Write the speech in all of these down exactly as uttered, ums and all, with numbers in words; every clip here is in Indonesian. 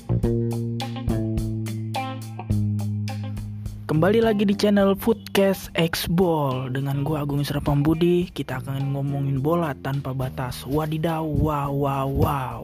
Kembali lagi di channel Footcast X-Ball dengan gue Agung Isra Pambudi. Kita akan ngomongin bola tanpa batas. Wadidaw, wow, wow, wow.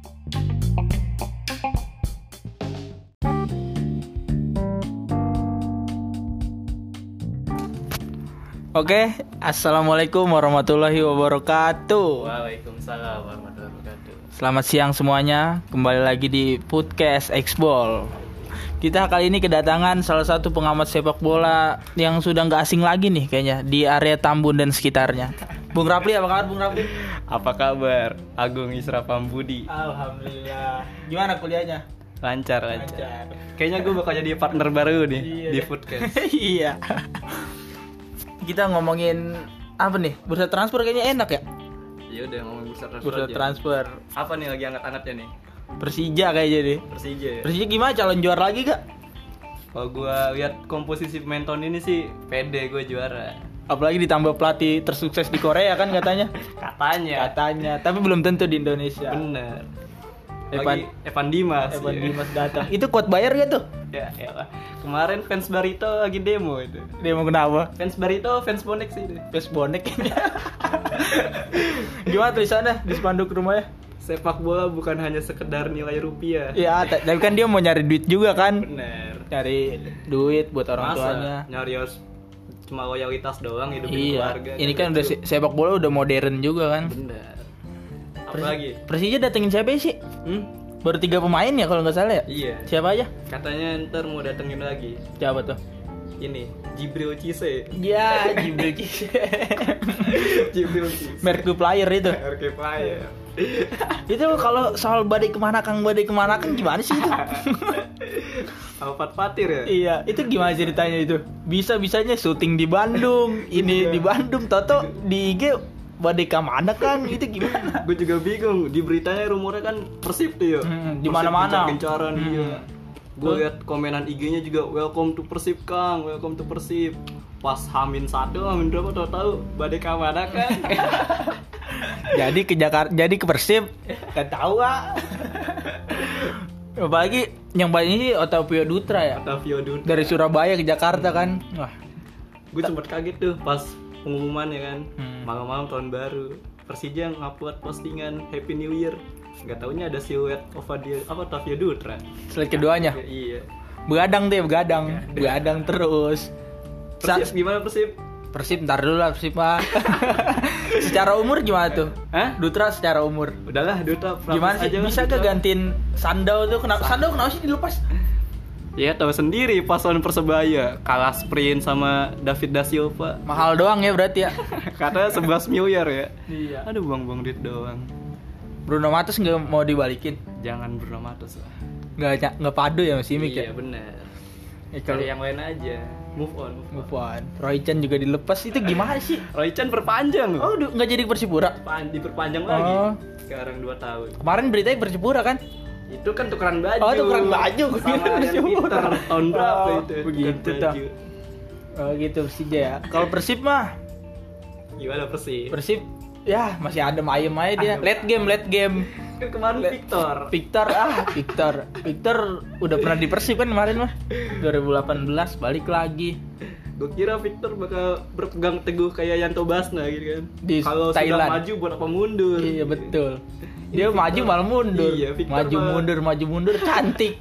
Oke, assalamualaikum warahmatullahi wabarakatuh. Waalaikumsalam warahmatullahi wabarakatuh. Selamat siang semuanya. Kembali lagi di Footcast X-Ball. Kita kali ini kedatangan salah satu pengamat sepak bola yang sudah nggak asing lagi nih kayaknya di area Tambun dan sekitarnya. Bung Rapli, apa kabar Bung Rapli? Apa kabar? Agung Isra Pambudi. Alhamdulillah. Gimana kuliahnya? Lancar, lancar. Lancar. Kayaknya gue bakal jadi partner baru nih Iya di deh. Footcast. Iya. Kita ngomongin apa nih? Bursa transfer kayaknya enak ya? Iya udah ngomongin bursa transfer. Bursa aja. transfer. Apa nih lagi hangat-hangatnya nih? Persija kayaknya deh. Persija. Ya? Persija gimana, calon juara lagi gak? Kalau gue lihat komposisi pemain tahun ini sih pede gue juara. Apalagi ditambah pelatih tersukses di Korea kan katanya. Katanya. Katanya, tapi belum tentu di Indonesia. Bener. Evan, Lagi Evan Dimas. Evan ya. Dimas datang. Itu kuat bayar gak tuh? Ya, ya. Kemarin fans Barito lagi demo itu. Dia mau kenapa? Fans Barito, fans bonek sih itu. Pes bonek. Gimana tulisannya di spanduk rumahnya? Sepak bola bukan hanya sekedar nilai rupiah. Ya, t- tapi kan dia mau nyari duit juga kan? Bener. Cari duit buat orang Masa tuanya. nyari harus cuma loyalitas doang hidupin Iya. keluarga. Ini kan udah se- sepak bola udah modern juga kan? Bener. Apa Pers- lagi? Persija datengin siapa sih? Hmm? Baru tiga pemain ya kalau nggak salah ya? Iya. Siapa aja? Katanya ntar mau datengin lagi. Siapa tuh? Ini Jibril Cisse. Ya, Jibril Cisse. Jibril Cisse. Merku player itu. R K Player. Itu kalau soal badai kemana kang badai kemana kang gimana sih itu? Alfat Fatir ya? Iya, itu gimana ceritanya itu? Bisa-bisanya syuting di Bandung, ini di Bandung, Toto di I G badai kemana kang? Itu gimana? Gue juga bingung. Di beritanya rumornya kan Persib tuh ya. Hmm, di mana-mana. Gencar-gencaran Hmm. iya. Gue liat komenan I G-nya juga welcome to Persib Kang, welcome to Persib. Pas Hamin satu, Hamin berapa tahu-tahu badai kemana kan? Jadi ke Jakarta, jadi ke Persib, gak tahu ah. Apalagi yang banyak ini Otavio Dutra ya. Otavio Dutra. Dari Surabaya ke Jakarta kan. Wah, Gue sempet kaget tuh pas pengumumannya kan. Hmm. Malam-malam tahun baru. Persija ngupload postingan Happy New Year. Gak taunya ada siluet Otavio apa Otavio Dutra. slide keduanya. Ya, iya. Begadang deh, begadang. Begadang terus. Sa- Persib gimana Persib? Persib ntar dulu lah Persib mah. Secara umur gimana tuh? Hah? Dutra secara umur. Udahlah Dutra. Gimana sih? aja lah, Bisa Dutra. gak gantiin Sandau tuh? Kenapa Sandau kenapa sih dilepas? Ya tahu sendiri pas lawan Persebaya kalah sprint sama David da Silva. Mahal doang ya berarti ya. Katanya sebelas miliar ya. Iya. Aduh buang-buang duit doang. Bruno Matos nggak mau dibalikin? Jangan Bruno Matos lah. Nggak nggak padu ya sama Simic Iya ya? benar. Ya, kalau Cari yang lain aja. Move on. move on. Roy Chan juga dilepas, itu gimana sih? Roy Chan perpanjang loh. Oh, du- nggak jadi Persipura? Pan- diperpanjang Oh. lagi. Sekarang dua tahun. Kemarin beritanya Persipura kan? Itu kan tukeran baju. Oh, tukeran baju. Gua Sama kira Ryan Persipura. Peter tahun berapa Oh, itu? begitu tukeran dah. baju. Oh gitu Persija ya. Kalau Persib mah, Gimana Persib? Persib ya masih adem ayem aja dia. Adem. Late game, late game. Kan kemarin Le- Victor. Victor ah, Victor. Victor udah pernah di Persib kan kemarin mah. dua ribu delapan belas balik lagi Gue kira Victor bakal berpegang teguh kayak Yanto Basna gitu kan. Di Kalau sudah Thailand. maju buat apa mundur? Iya betul. Dia Victor- maju malah mundur. Iya, Victor maju malah- mundur, maju mundur cantik.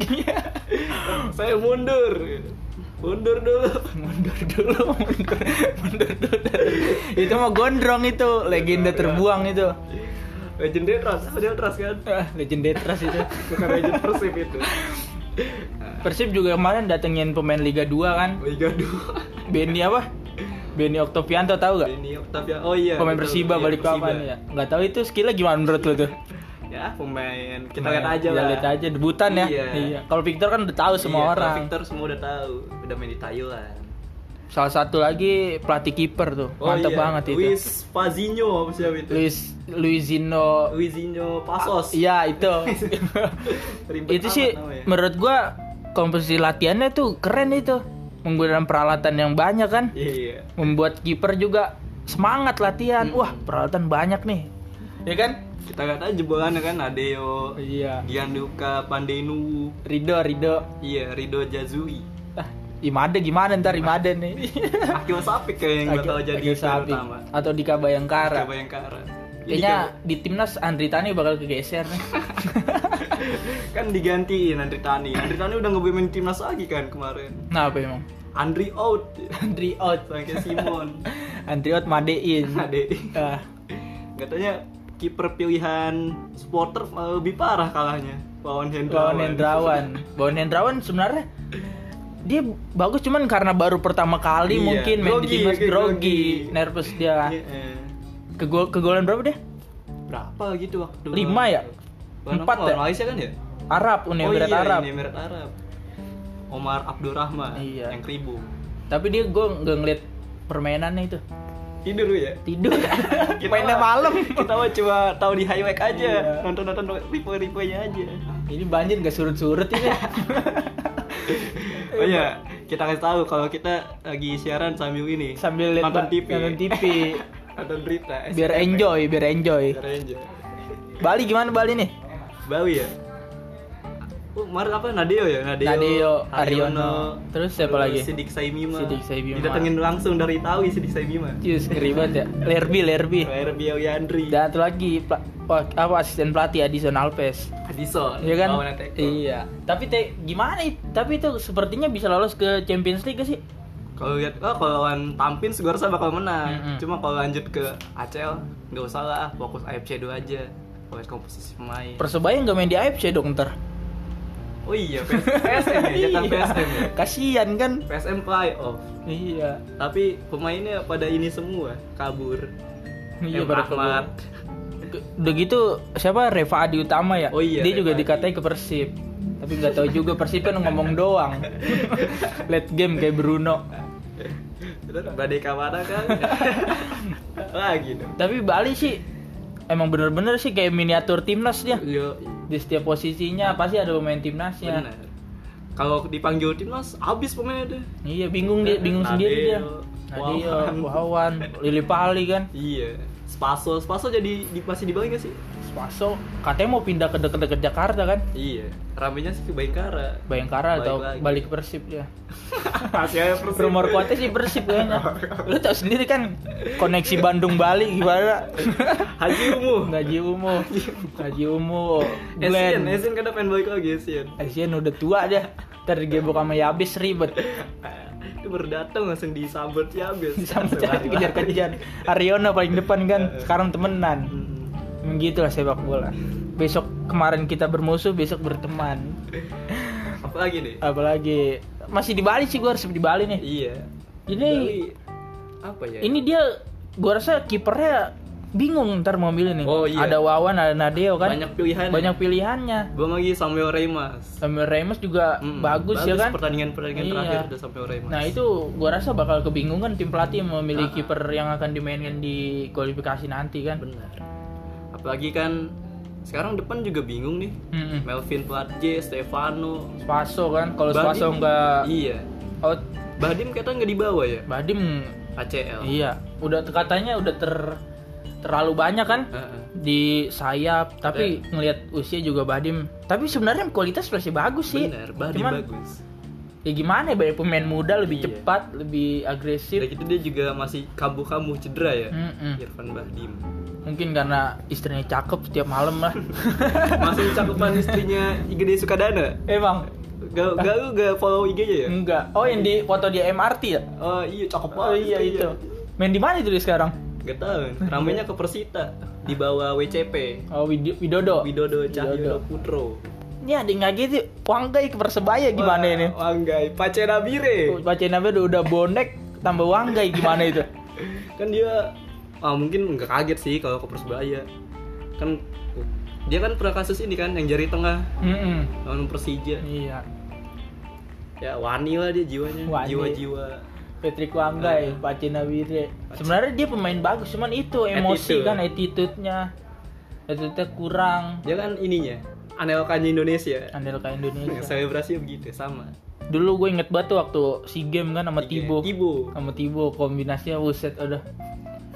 Saya mundur. Mundur dulu. mundur dulu, mundur, mundur dulu. Itu mah gondrong itu, legenda terbuang itu. Legend Detras, dia Detras kan? Ah, legenda Detras itu. Bukan Legend Persib itu. Persib juga kemarin datengin pemain Liga dua kan. Liga dua. Benny apa? Benny Oktovianto tahu gak? Ini Octavia. Oh iya. Pemain betul. Persiba Iya, balik Persiba. kapan ya? Nggak tahu itu skillnya gimana menurut lo tuh? Ya, pemain kita lihat aja Kita lah. lihat aja debutan ya. Iya. Kalau Victor kan udah tahu semua Iya, orang. Victor semua udah tahu, udah main di Thailand. Salah satu lagi pelatih kiper tuh. Oh Mantap iya, banget itu. Luis Fazinho apa siapa itu? Luis Luizinho. Luizinho Pasos. Iya itu. Ribet Itu amat sih namanya. menurut gua komposisi latihannya tuh keren itu. Menggunakan peralatan yang banyak kan. Iya. Membuat kiper juga semangat latihan. Wah, peralatan banyak nih. Ya kan? Kita lihat aja jebolannya kan Nadeo, Iya. Gianluca Pandenu, Rido, Rido. iya Rido Jazui. Ah, Imade gimana ntar Imade nih? Akil Sapik kayak yang bakal jadi Agil Sapi. utama. Atau Dika Bayangkara. Bayangkara. Kayaknya di timnas Andri Tani bakal kegeser nih. Kan digantiin Andri Tani. Andri Tani udah nggak main timnas lagi kan kemarin. Nah, apa emang? Andri out. Andri out. Bangke Simon. Andri out madein. Ade. Ah, Katanya kiper pilihan supporter malah lebih parah kalahnya. Wawan Hendrawan. Wawan Hendrawan. Wawan Hendrawan sebenarnya dia bagus cuman karena baru pertama kali Iya, mungkin main grogi, di timnas kayak grogi, grogi. nervous dia. Iya. Kegol kegolan berapa deh? Berapa gitu waktu? Lima ya? Lawan Empat apa? ya? Malaysia kan ya? Arab, Uni Oh Emirat iya, Arab. Uni Emirat Arab. Omar Abdurrahman Iya. yang kribo. Tapi dia gue nggak ngeliat permainannya itu. Tidur lu ya? Tidur. Kita Mainnya mah- malam. Kita mah cuma tahu di highlight aja, Iya. nonton-nonton replay-replaynya aja. Ini banjir gak surut-surut ini. Oh iya, kita kasih tahu kalau kita lagi siaran sambil ini Sambil lihat nonton T V. nonton T V. Nonton berita. Biar enjoy, biar enjoy. Biar enjoy. Bali gimana Bali nih? Bawi ya? Oh, kemarin apa? Nadeo ya? Nadeo, Nadeo, Aryono. Terus siapa lagi? Sidik Saimima. Sidik Saimima. Didatengin langsung dari Itawi Sidik Saimima. Cius ribet ya. Lerbi, Lerbi. R B Yandri. Dan satu lagi pla- pa- apa asisten pelatih Adison Alves. Adison. Iya kan? lawan Atletico. Iya. Tapi te, gimana it? Tapi itu sepertinya bisa lolos ke Champions League gak sih? Kalau lihat, oh kalau lawan Tampin gue rasa bakal menang. Mm-mm. Cuma kalau lanjut ke A C L nggak usah lah, fokus A F C dulu aja. Fokus komposisi pemain. Persebaya nggak main di A F C dong ntar. Oh iya, P S M ya, jatah P S M ya. Kasian kan? P S M playoff. Iya. Tapi pemainnya pada ini semua kabur. Iya Em pada Ahmad. Ke- Udah gitu siapa Reva Adi Utama ya? Oh iya, Dia juga Reva Adi. dikatain ke Persib. Tapi nggak tahu juga Persib kan ngomong doang. Late game kayak Bruno. Terus Badai Kamara kan. Lagi dong. Tapi Bali sih emang bener-bener sih kayak miniatur timnas dia. Yo, Di setiap posisinya pasti ada pemain timnasnya. benar. Kalau dipanggil timnas habis pemainnya deh. Iya bingung dia, bingung Nadeo, sendiri dia. Nadio, Wawan. Wawan, Lili Pali kan. Iya. Spaso, Spaso jadi di, masih di Bali gak sih? Spaso katanya mau pindah ke deket-deket Jakarta kan. Iya. Ramenya sih ke Bayangkara. Bayangkara Balik atau lagi. balik ke Persib dia. Masih aja Persib. Rumor kuatnya sih Persib kayaknya. Lu tau sendiri kan koneksi Bandung Bali gimana? Haji Umu. Gaji Umu, Gaji Umu, Asian, Glenn. Asian kan pengen balik lagi Asian. Asian udah tua dia. Ntar digebok sama Yabis ribet. Itu baru datang langsung disambut ya habis. Sama cari kejar-kejar. Aryono paling depan kan. Sekarang temenan. Hmm. Gitu lah sepak bola. Besok kemarin kita bermusuh, besok berteman. Apa lagi nih? Apalagi masih di Bali sih, gue harus di Bali nih. Iya. Ini Bali, apa ya? ini dia, gue rasa kipernya bingung ntar mau milih nih. Oh, iya. Ada Wawan, ada Nadeo kan. Banyak pilihan. Banyak pilihannya. Belum lagi Samuel Reymas. Samuel Ramos juga Hmm, bagus, ya kan. Pertandingan-pertandingan Iya. terakhir udah Samuel Reymas. Nah itu gue rasa bakal kebingungan tim pelatih memilih Ah. kiper yang akan dimainkan di kualifikasi nanti kan. Benar. Apalagi kan sekarang depan juga bingung nih. Mm-mm. Melvin Platje, Stefano, Spaso kan, kalau Badim- Spaso nggak Iya. out, Badim katanya nggak dibawa ya? Badim A C L. iya, udah katanya udah ter terlalu banyak kan Heeh. di sayap, tapi ngelihat usia juga Badim. Tapi sebenarnya kualitas masih bagus sih. Benar, Badim Cuman, bagus. ya gimana ya, banyak pemain muda lebih Iya. cepat, lebih agresif. Udah gitu dia juga masih kambuh-kambuh cedera ya. Mm-mm. Irfan Bahdim. Mungkin karena istrinya cakep setiap malam lah. Masih cakupan istrinya I G D Sukadana. Emang Gak, gak lu gak follow I G-nya ya? enggak. Oh yang di foto di M R T ya? Oh iya cakep Oh banget. iya itu. Main di mana itu dia sekarang? Gak tau. Ramenya ke Persita di bawah W C P. Oh Wid- Widodo. Widodo Widodo. Cahyono Putro. Ini ada yang ngaget sih. Wanggai ke Persebaya gimana ini? Wanggai, Pace Nabire. Baca namanya udah, udah bonek tambah Wanggai gimana itu? Kan dia ah, mungkin nggak kaget sih kalau ke Persebaya. Kan dia kan pernah kasus ini kan yang jari tengah Mm-mm. lawan Persija. Iya. Ya wani lah dia jiwanya, Wani. jiwa-jiwa. Patrick Wanggai, Pace Nabire. Sebenarnya dia pemain bagus, cuman itu emosi Attitude. kan, attitude-nya. Attitude-nya kurang. Dia kan ininya anelkannya Indonesia. Andelka Indonesia. Selebrasi begitu sama. Dulu gue inget banget tuh waktu SEA Games kan sama Tibo. Tibo. Sama Tibo kombinasinya buset udah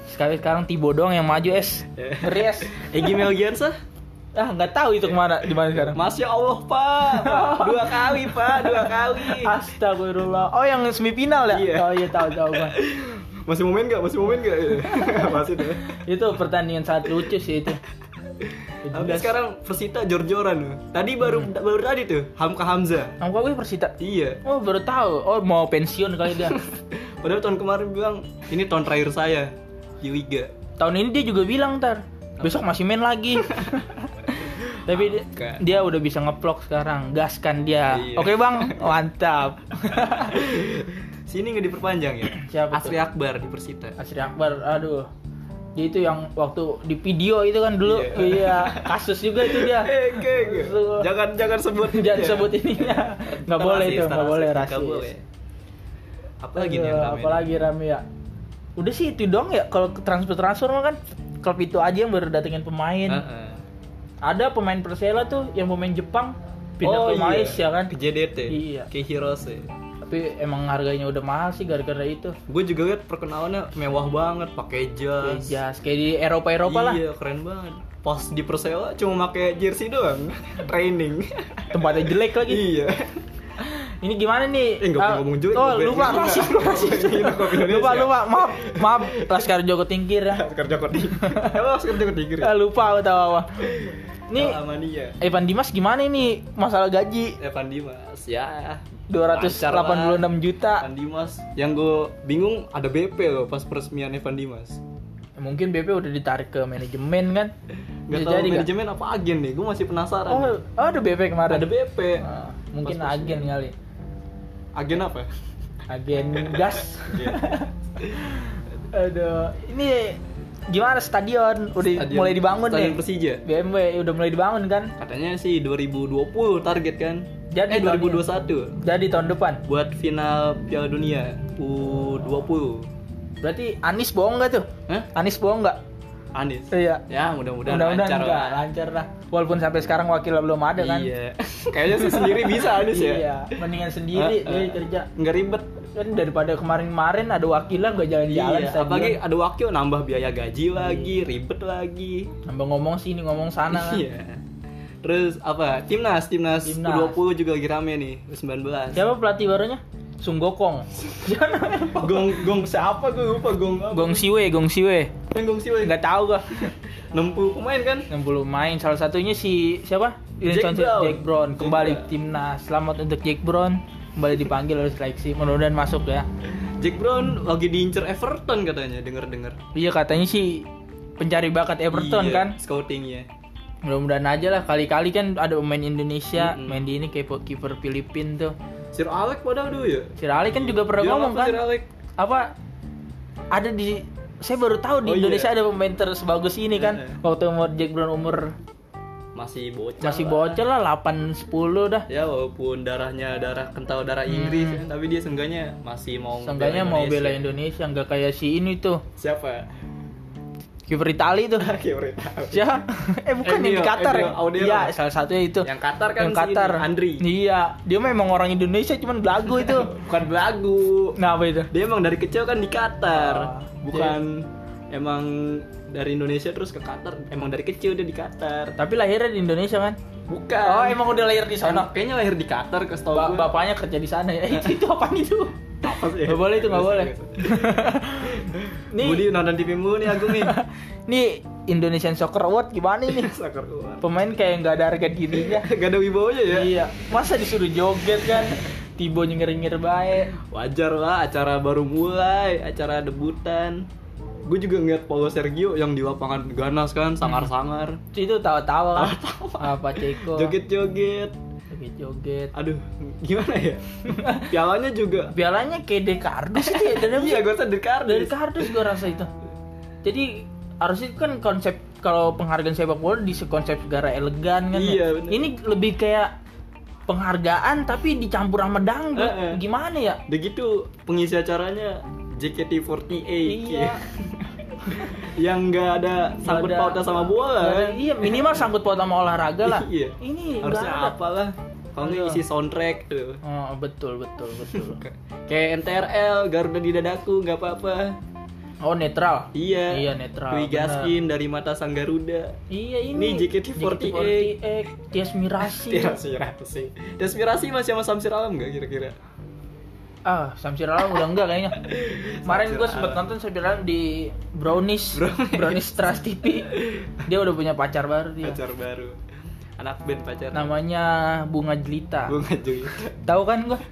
Sekali sekarang Tibo doang yang maju es. Ngeri es. Egy Melgiansa? Ah nggak tahu itu kemana di mana sekarang. Masya Allah Pak, Pak. dua kali Pak, dua kali. Astagfirullah. Oh yang semifinal ya? Iya. Oh iya tahu tahu Bang. Masih mau main nggak? Masih mau main nggak? Masih deh. Itu pertandingan sangat lucu sih itu. Tapi sekarang Persita jor-joran. Tadi baru Hmm. baru tadi tuh Hamka Hamzah. Hamka gue Persita. Iya. Oh baru tahu. Oh mau pensiun kali dia. Padahal tahun kemarin bilang ini tahun terakhir saya di liga. Tahun ini dia juga bilang ntar besok masih main lagi. Tapi dia, dia udah bisa ngeplok sekarang, gaskan dia. Iya. Oke bang, mantap. Sini nggak diperpanjang ya? Siapa Asri tuh? Akbar di Persita. Asri Akbar, aduh. Dia itu yang waktu di video itu kan dulu, Iya. iya, kasus juga itu dia. Eh, oke, oke. Jangan jangan sebut Jangan sebut ininya. Nggak boleh itu, nggak boleh Nggak rasis. boleh. Apa lagi nih yang Aduh, rame? apalagi rame ya. Udah sih itu dong ya, kalau transfer transfer mah kan klub itu aja yang baru datengin pemain. Heeh. Ada pemain Persela tuh yang pemain Jepang pindah Oh, ke iya. Malaysia kan. Ke J D T. Iya. Ke Hirose. Tapi emang harganya udah mahal sih gara-gara itu. Gue juga liat perkenalannya mewah banget, pakai jas. Jas kayak di Eropa-Eropa lah. Iya, keren banget. Pas di Persela cuma pakai jersey doang, training. Tempatnya jelek lagi. Iya. Ini gimana nih? Eh, nggak Ah, boleh ngomong jelek, Oh, nggak boleh. lupa, Nggak. rasis, rasis. Ini kopi Indonesia. Lupa, lupa. Maaf, maaf. Laskar Joko Tingkir ya. Kerja kok di. Emang kerja kok tinggi. Ah, lupa aku tahu apa. Nih, Amania. Evan Dimas gimana ini masalah gaji? Evan Dimas ya. dua ratus delapan puluh enam juta. Evan Dimas. Yang gue bingung ada B P loh pas peresmian Evan Dimas. Mungkin B P udah ditarik ke manajemen kan? Gak Bisa tahu jadi nggak? manajemen apa agen nih, gue masih penasaran. Oh, oh, ada B P kemarin. Ada B P. Ah, mungkin Pas agen kali. Agen apa? Agen gas. Aduh, ini gimana stadion? Udah Stadion- mulai dibangun Stadion nih. Persija. B M W udah mulai dibangun kan? Katanya sih dua ribu dua puluh target kan. Jadi eh dua ribu dua puluh satu Jadi tahun depan. buat final Piala Dunia U dua puluh. Berarti Anis bohong nggak tuh? Hah? Anis bohong nggak? Anis. Iya. Ya, mudah-mudahan Mudah-mudahan lancar enggak, lah. lancar lah. Walaupun sampai sekarang wakilnya belum ada kan? Iya. Kayaknya sih sendiri bisa Anis ya. Iya, mendingan sendiri Ah, dia ah. kerja. Nggak ribet. Kan daripada kemarin-kemarin ada wakilnya nggak jalan-jalan Iya, stadion. apalagi ada wakil nambah biaya gaji lagi, ribet lagi. Nambah ngomong sini ngomong sana. Iya. Terus apa? Timnas, timnas, Timnas. U dua puluh juga lagi rame nih, U sembilan belas. Siapa pelatih barunya? Sung Gokong. Siapa namanya? Gong gong siapa gue lupa gong apa? Gong Siwe, Gong Siwe. Yang gong siapa? Nggak tahu gua. enam puluh pemain kan? enam puluh main, salah satunya si siapa? Jack Johnson- Brown. Jack Brown kembali Jack ke timnas. Selamat untuk Jack Brown kembali dipanggil oleh seleksi. Mudah-mudahan masuk ya. Jack Brown lagi diincer Everton katanya, denger-denger. Iya katanya sih pencari bakat Everton Iya, kan. Scoutingnya. Mudah-mudahan aja lah, kali-kali kan ada pemain Indonesia Mm-mm. main di ini kayak po- kiper Filipin tuh. Sir Alec padahal dulu ya. Si Rali kan juga pernah Dia ngomong apa kan Sir Alec? apa ada di saya baru tahu di Oh, iya. Indonesia ada pemain tersebagus ini kan. Heeh. Waktu umur Jack Brown umur Masih bocah. masih lah. bocah lah delapan sepuluh dah. Ya walaupun darahnya darah kental darah Inggris kan, tapi dia seenggaknya masih mau Seenggaknya mau bela Indonesia nggak kayak si ini tuh Siapa? kiper Itali tuh. Kiper Siapa? eh bukan yang di Emil, Qatar Emil ya? Audero. Iya, salah satunya itu. Yang Qatar kan Yang si Qatar. ini, Andri. Iya, dia memang orang Indonesia cuman belagu itu. Bukan belagu. Nah, apa itu? Dia emang dari kecil kan di Qatar. Oh, Bukan emang dari Indonesia terus ke Qatar. Emang dari kecil dia di Qatar. Tapi lahirnya di Indonesia kan? Bukan. Oh, emang udah lahir di sana. Emang kayaknya lahir di Qatar ke setahu Ba- gue. bapaknya kerja di sana ya. Eh, itu itu apaan itu? Apa sih? Nggak boleh itu, nggak boleh. Nih, Budi nonton T V mulu nih Agung nih. nih Indonesian Soccer Award gimana ini? Sakar keluar. Pemain kayak nggak ada harga dirinya. Gak ada wibawanya ya. Iya, masa disuruh joget kan? Tibo nyengir-nyengir baik. Wajar lah, acara baru mulai, acara debutan. Gue juga ngeliat Paulo Sergio yang di lapangan ganas kan, sangar-sangar. Itu tawa-tawa kan? Apa Ceko? Joget-joget. Joget-joget. Aduh, gimana ya? Pialanya juga. Pialanya kayak Dekardus itu ya. Dan Iya, gue sadar kardus. dari kardus gue rasa itu. Jadi harusnya kan konsep kalau penghargaan sepak bola di konsep negara elegan kan. Iya, ya? bener. Ini lebih kayak penghargaan tapi dicampur sama dangdut. Eh, eh. Gimana ya? Udah gitu pengisi acaranya J K T empat delapan. Iya. Yang nggak ada sangkut Nggak ada- pautnya sama bola nggak ada- kan? Iya, minimal sangkut paut sama olahraga lah. Iya. Ini Harusnya nggak ada. apalah. Kalau nggak Aduh. isi soundtrack tuh. Oh, betul betul betul. Kayak N T R L, Garuda di dadaku, nggak apa-apa. Oh, netral. Iya. Iya, netral. Dwi bener. Gaskin dari Mata Sang Garuda. Iya, ini. Ini J K T empat delapan. Tias Mirasi. Desmirasi. Desmirasi masih sama Samsir Alam enggak kira-kira? Ah, Samsir Alam udah enggak kayaknya. Kemarin Samsir gue sempet Alam. nonton Samsir Alam di Brownies, Brownies. Brownies Trust T V. Dia udah punya pacar baru dia. Pacar baru. Anak band pacar. Namanya Bunga Jelita. Bunga Jelita. Tahu kan gua?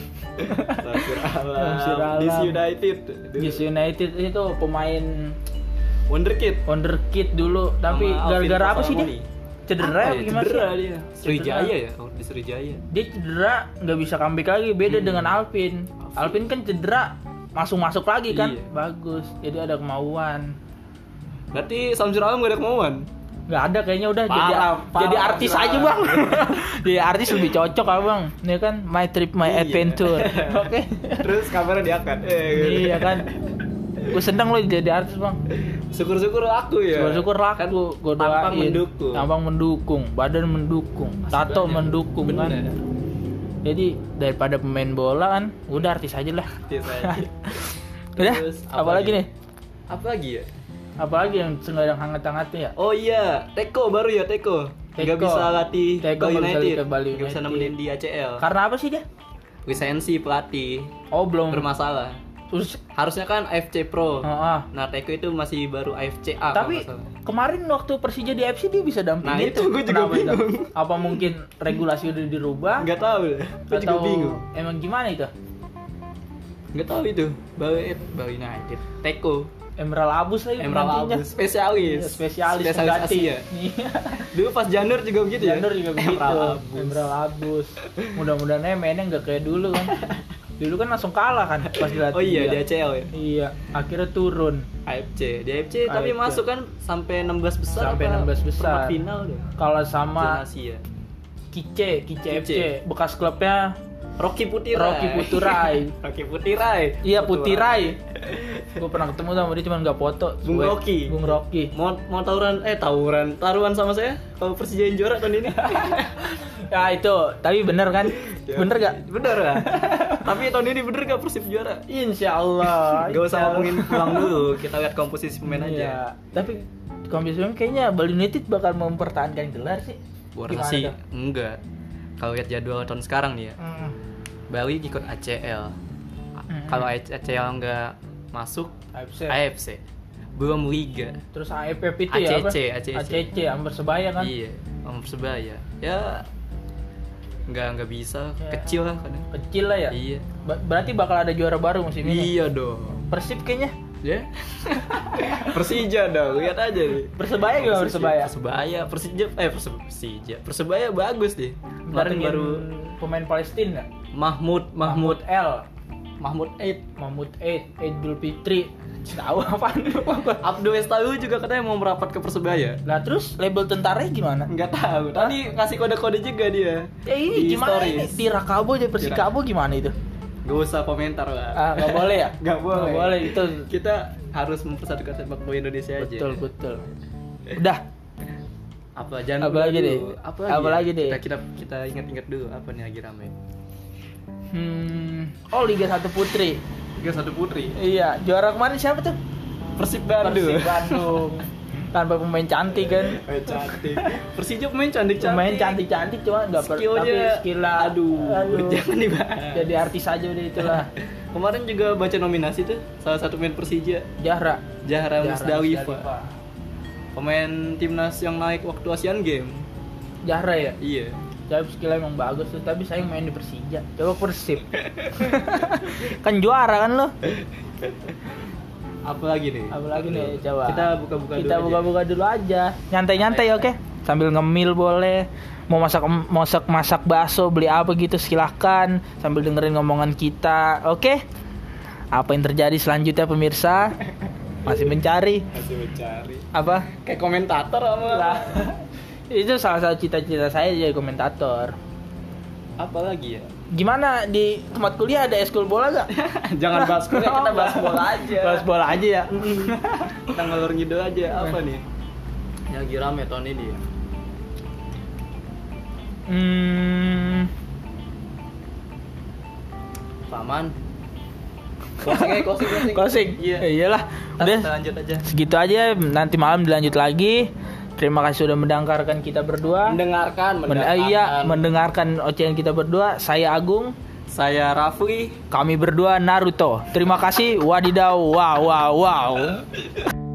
Samsir Alam. Samsir Alam. D C United. D C United itu pemain Wonderkid. wonderkid dulu, tapi Sama Alvin gara-gara apa sih dia? Prasamoni. Cedera Apa apa ya? gimana Cedera sih? dia. Sriwijaya ya? Oh, di Sriwijaya. Dia cedera nggak bisa comeback lagi, beda Hmm. dengan Alvin. Alvin kan cedera masuk-masuk lagi kan, Iya. bagus. Jadi ada kemauan. Berarti Samsir Alam gak ada kemauan? Nggak ada kayaknya, udah jadi Parah, parah, jadi artis parah. aja bang. Jadi artis lebih cocok abang. Ini kan my trip my Iya. adventure. Oke. Terus kamera diangkat. Eh, gitu. Iya kan. Gue seneng lo jadi artis bang. Syukur-syukur aku ya. Syukur-syukur laku, gue doain. tampang mendukung. Tampang mendukung, badan mendukung, Masih tato banyak. mendukung kan. Bener. Jadi daripada pemain bola kan, udah artis aja lah. Artis aja. Udah, Terus, apa, apa lagi lagi? nih? Apa lagi ya? Apalagi yang sedang hangat-hangatnya ya? Oh iya, Teko baru ya Teko. Gak Teko. bisa latih Teko Bali nggak bisa United. latih Bali Gak bisa United. nemenin di A C L. Karena apa sih dia? Lisensi pelatih Oh belum. bermasalah. Terus, Harusnya kan A F C Pro. oh, ah. Nah Teko itu masih baru A F C A. kalau Tapi nggak salah. kemarin waktu Persija di A F C dia bisa dampingin. Nah, itu gua juga Kenapa itu? bingung. Apa mungkin regulasi udah dirubah? Nggak tahu deh. Gue juga Atau bingung. emang gimana itu? Nggak tahu itu. Bali Bali United. Teko. Emerald Abus lagi Emerald penaltinya. Abus. Spesialis. Iya, spesialis, Spesialis pengganti. Asia. Iya. Dulu pas Janur juga begitu ya. Janur juga begitu. Emerald Abus. Emerald Abus. Mudah-mudahan aja mainnya nggak kayak dulu kan. Dulu kan langsung kalah kan pas dilatih. Oh iya di dia. A C L ya. Iya, akhirnya turun. A F C. Di A F C tapi A F C. masuk kan sampai enam belas besar. Sampai apa enam belas besar. perempat final deh. Kalah sama Zona Asia. Kice, Kice F C, Kice. bekas klubnya Rocky Putirai. Rocky Putirai. Rocky Putirai. Iya Putirai. Gue pernah ketemu sama dia cuman nggak foto. Bung Gue- Rocky. Bung Rocky. Mau mau tawuran eh tawuran taruhan sama saya kalau Persija yang juara tahun ini. Ya itu, tapi bener kan? Ya, Bener gak? Bener lah. Tapi tahun ini bener gak Persib juara? Insya Allah. Gak usah Insya Allah. ngomongin pulang dulu, kita lihat komposisi pemain aja. Iya. Tapi komposisi pemain kayaknya Bali United bakal mempertahankan gelar sih. Gua Gimana rasa sih tuh? enggak. Kalau lihat jadwal tahun sekarang nih ya, Hmm. Bali ikut A C L. Hmm. Kalau A C L nggak masuk, A F C. A F C. Belum Liga. Terus A F F itu A C C, ya apa? A C C. A C C, Amber Sebaya kan? Iya, sama Persebaya. Ya nggak nggak bisa, Ya. kecil lah kadang. Kecil lah ya. Iya. Ba- berarti bakal ada juara baru musim ini. Iya dong. Persib kayaknya. Ya. Persija dong, lihat aja nih. Persebaya gimana Persebaya? Persebaya, Persija, eh Perse- Persija. Persebaya bagus deh. Kemarin Datengin baru pemain Palestina. Mahmud, Mahmud, L, Mahmud Eid. Mahmud Eid, Idul Fitri. Tahu apaan lu? Abdul Estalu juga katanya mau merapat ke Persebaya. Lah terus label tentaranya gimana? Nggak tahu. Tadi kasih kode-kode juga dia. Ya ini Di gimana stories. ini? Di Rakabo aja Persikabo gimana itu? Gak usah komentar lah. Ah, nggak boleh ya? Nggak boleh. Nggak boleh itu. Kita harus mempersatukan sepak bola Indonesia aja. Betul betul. Udah. Apa jangan Apa lagi dulu. deh? Apa Apa ya? lagi deh? Kita kita kita ingat-ingat dulu apa nih lagi rame. Hmm. Oh Liga satu Putri. Liga satu Putri. Iya, juara kemarin siapa tuh? Persib Bandung. Persib Bandung. Tanpa pemain cantik kan. Eh, cantik. Persija pemain cantik-cantik. Pemain cantik-cantik cuma nggak per, Skillnya, tapi skillnya aduh, jangan dibahas. Jadi artis aja udah itulah. Kemarin juga baca nominasi tuh salah satu pemain Persija, Jahra. Zahra Musdalifa. Musdalifa. Pemain timnas yang naik waktu Asian Games. Jahra ya. Iya. Tapi skillnya emang bagus tuh, tapi sayang main di Persija. Coba Persib. Kan juara kan lo. Apa lagi nih? Apa lagi nih coba. Kita buka-buka Kita dulu buka-buka dulu aja. Nyantai-nyantai oke. Sambil ngemil boleh. Mau masak masak masak bakso, beli apa gitu silahkan sambil dengerin ngomongan kita. Oke? Apa yang terjadi selanjutnya pemirsa? Masih mencari Masih mencari. apa? Kayak komentator sama. Lah. Itu salah satu cita-cita saya jadi komentator. Apa lagi ya? Gimana di tempat kuliah ada eskul bola gak? Jangan bahas kuliah, kita bahas bola aja. Bahas bola aja ya. Kita ngalor ngidul aja. Apa nih? Yang lagi rame tahun ini ya. Hmm, Paman. Closing aja, closing, closing. Closing. Iya. Eh, iyalah. Udah, Udah kita lanjut aja. segitu aja. Nanti malam dilanjut lagi. Terima kasih sudah mendengarkan kita berdua. Mendengarkan, Men- mendengarkan. eh, iya, mendengarkan ocehan kita berdua. Saya Agung. Saya Rafli. Kami berdua Naruto. Terima kasih. Wadidaw. Wow, wow, wow.